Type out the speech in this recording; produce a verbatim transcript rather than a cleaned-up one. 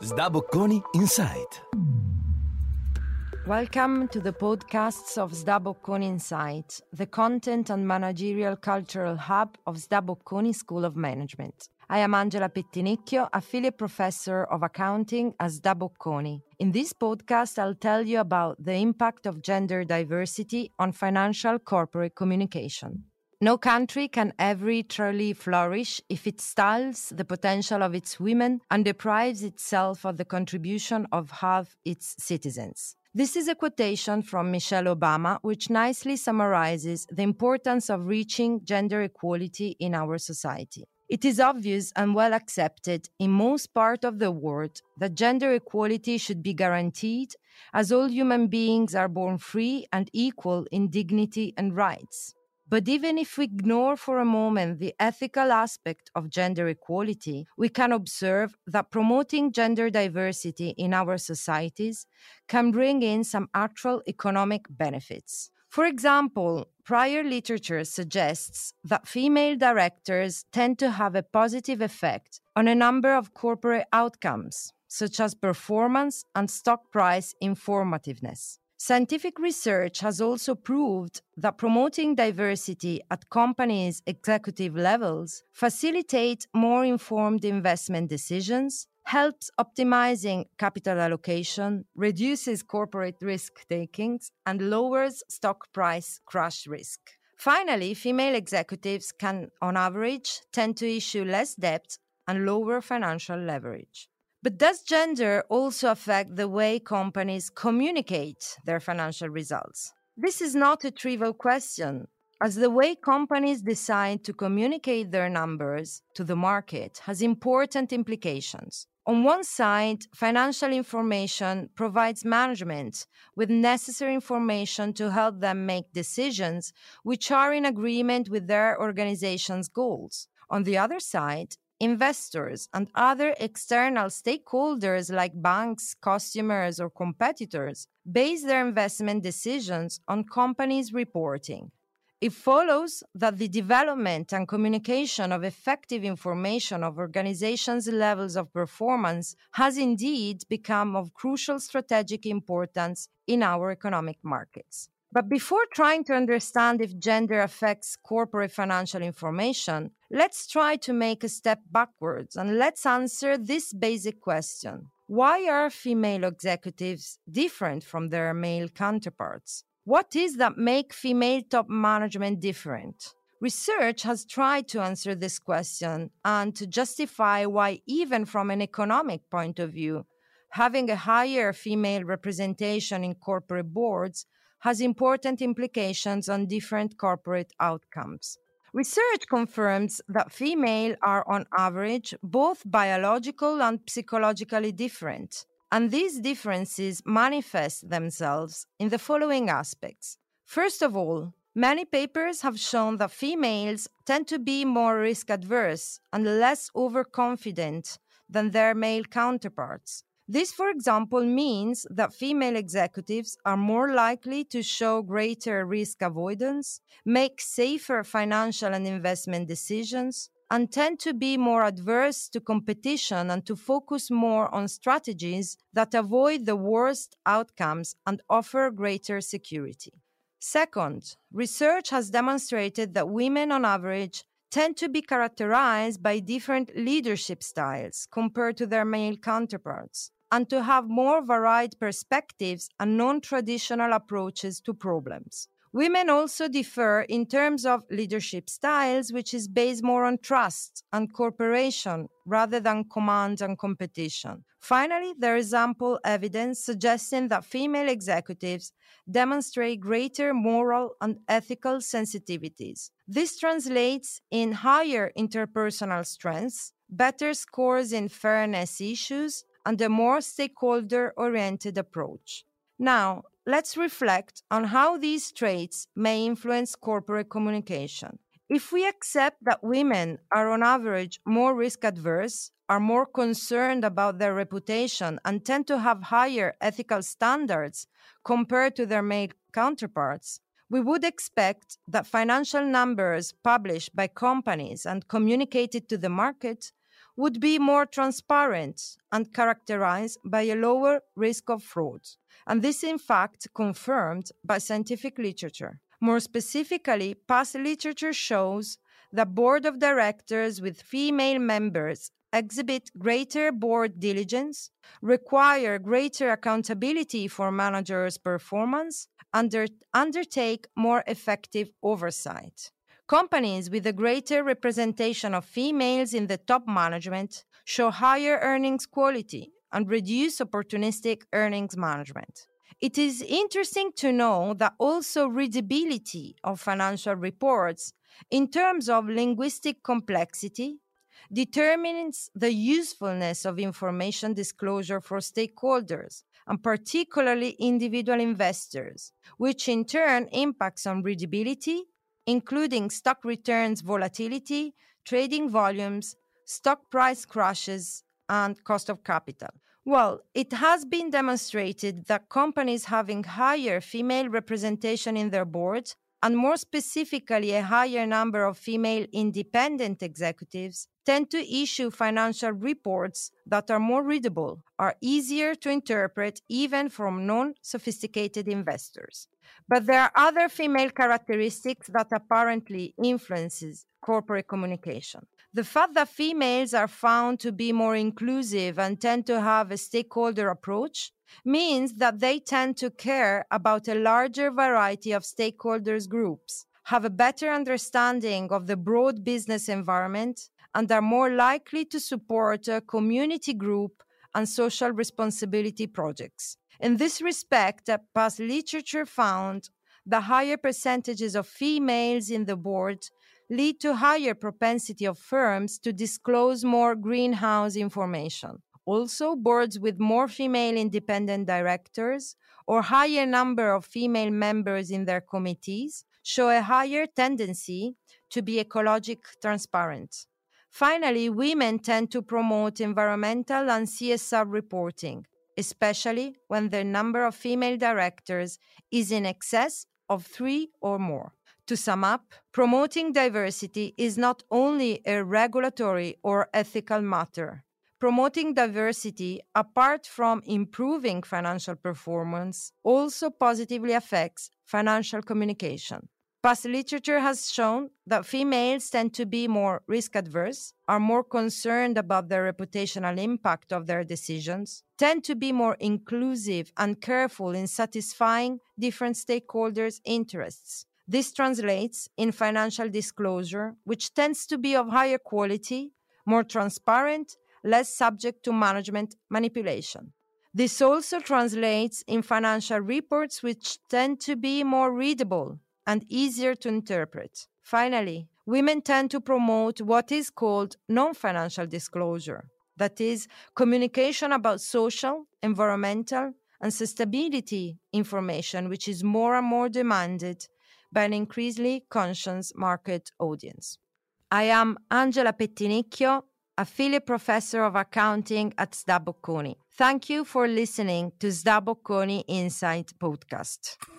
Sdabocconi Insight. Welcome to the podcasts of Sdabocconi Insight, the content and managerial cultural hub of Sdabocconi School of Management. I am Angela Pettinicchio, affiliate professor of accounting at Sdabocconi. In this podcast, I'll tell you about the impact of gender diversity on financial corporate communication. No country can ever truly flourish if it stifles the potential of its women and deprives itself of the contribution of half its citizens. This is a quotation from Michelle Obama, which nicely summarizes the importance of reaching gender equality in our society. It is obvious and well accepted in most parts of the world that gender equality should be guaranteed, as all human beings are born free and equal in dignity and rights. But even if we ignore for a moment the ethical aspect of gender equality, we can observe that promoting gender diversity in our societies can bring in some actual economic benefits. For example, prior literature suggests that female directors tend to have a positive effect on a number of corporate outcomes, such as performance and stock price informativeness. Scientific research has also proved that promoting diversity at companies' executive levels facilitates more informed investment decisions, helps optimizing capital allocation, reduces corporate risk-taking, and lowers stock price crash risk. Finally, female executives can, on average, tend to issue less debt and lower financial leverage. But does gender also affect the way companies communicate their financial results? This is not a trivial question, as the way companies decide to communicate their numbers to the market has important implications. On one side, financial information provides management with necessary information to help them make decisions which are in agreement with their organization's goals. On the other side, investors and other external stakeholders like banks, customers, or competitors base their investment decisions on companies' reporting. It follows that the development and communication of effective information of organizations' levels of performance has indeed become of crucial strategic importance in our economic markets. But before trying to understand if gender affects corporate financial information, let's try to make a step backwards and let's answer this basic question. Why are female executives different from their male counterparts? What is that makes female top management different? Research has tried to answer this question and to justify why, even from an economic point of view, having a higher female representation in corporate boards has important implications on different corporate outcomes. Research confirms that females are on average both biological and psychologically different, and these differences manifest themselves in the following aspects. First of all, many papers have shown that females tend to be more risk-averse and less overconfident than their male counterparts. This, for example, means that female executives are more likely to show greater risk avoidance, make safer financial and investment decisions, and tend to be more adverse to competition and to focus more on strategies that avoid the worst outcomes and offer greater security. Second, research has demonstrated that women on average tend to be characterized by different leadership styles compared to their male counterparts, and to have more varied perspectives and non-traditional approaches to problems. Women also differ in terms of leadership styles, which is based more on trust and cooperation rather than command and competition. Finally, there is ample evidence suggesting that female executives demonstrate greater moral and ethical sensitivities. This translates in higher interpersonal strengths, better scores in fairness issues, and a more stakeholder-oriented approach. Now, let's reflect on how these traits may influence corporate communication. If we accept that women are on average more risk-averse, are more concerned about their reputation, and tend to have higher ethical standards compared to their male counterparts, we would expect that financial numbers published by companies and communicated to the market would be more transparent and characterized by a lower risk of fraud. And this, in fact, confirmed by scientific literature. More specifically, past literature shows that board of directors with female members exhibit greater board diligence, require greater accountability for managers' performance, and undertake more effective oversight. Companies with a greater representation of females in the top management show higher earnings quality and reduce opportunistic earnings management. It is interesting to know that also readability of financial reports in terms of linguistic complexity determines the usefulness of information disclosure for stakeholders, and particularly individual investors, which in turn impacts on readability, including stock returns volatility, trading volumes, stock price crashes, and cost of capital. Well, it has been demonstrated that companies having higher female representation in their boards, and more specifically a higher number of female independent executives, tend to issue financial reports that are more readable, are easier to interpret even from non-sophisticated investors. But there are other female characteristics that apparently influences corporate communication. The fact that females are found to be more inclusive and tend to have a stakeholder approach means that they tend to care about a larger variety of stakeholders groups, have a better understanding of the broad business environment, and are more likely to support a community group and social responsibility projects. In this respect, past literature found that higher percentages of females in the board lead to higher propensity of firms to disclose more greenhouse information. Also, boards with more female independent directors or higher number of female members in their committees show a higher tendency to be ecologic transparent. Finally, women tend to promote environmental and C S R reporting, especially when the number of female directors is in excess of three or more. To sum up, promoting diversity is not only a regulatory or ethical matter. Promoting diversity, apart from improving financial performance, also positively affects financial communication. Past literature has shown that females tend to be more risk-averse, are more concerned about the reputational impact of their decisions, tend to be more inclusive and careful in satisfying different stakeholders' interests. This translates in financial disclosure, which tends to be of higher quality, more transparent, less subject to management manipulation. This also translates in financial reports, which tend to be more readable and easier to interpret. Finally, women tend to promote what is called non-financial disclosure, that is, communication about social, environmental, and sustainability information, which is more and more demanded by an increasingly conscious market audience. I am Angela Pettinicchio, Affiliate Professor of Accounting at S D A Bocconi. Thank you for listening to S D A Bocconi Insight Podcast.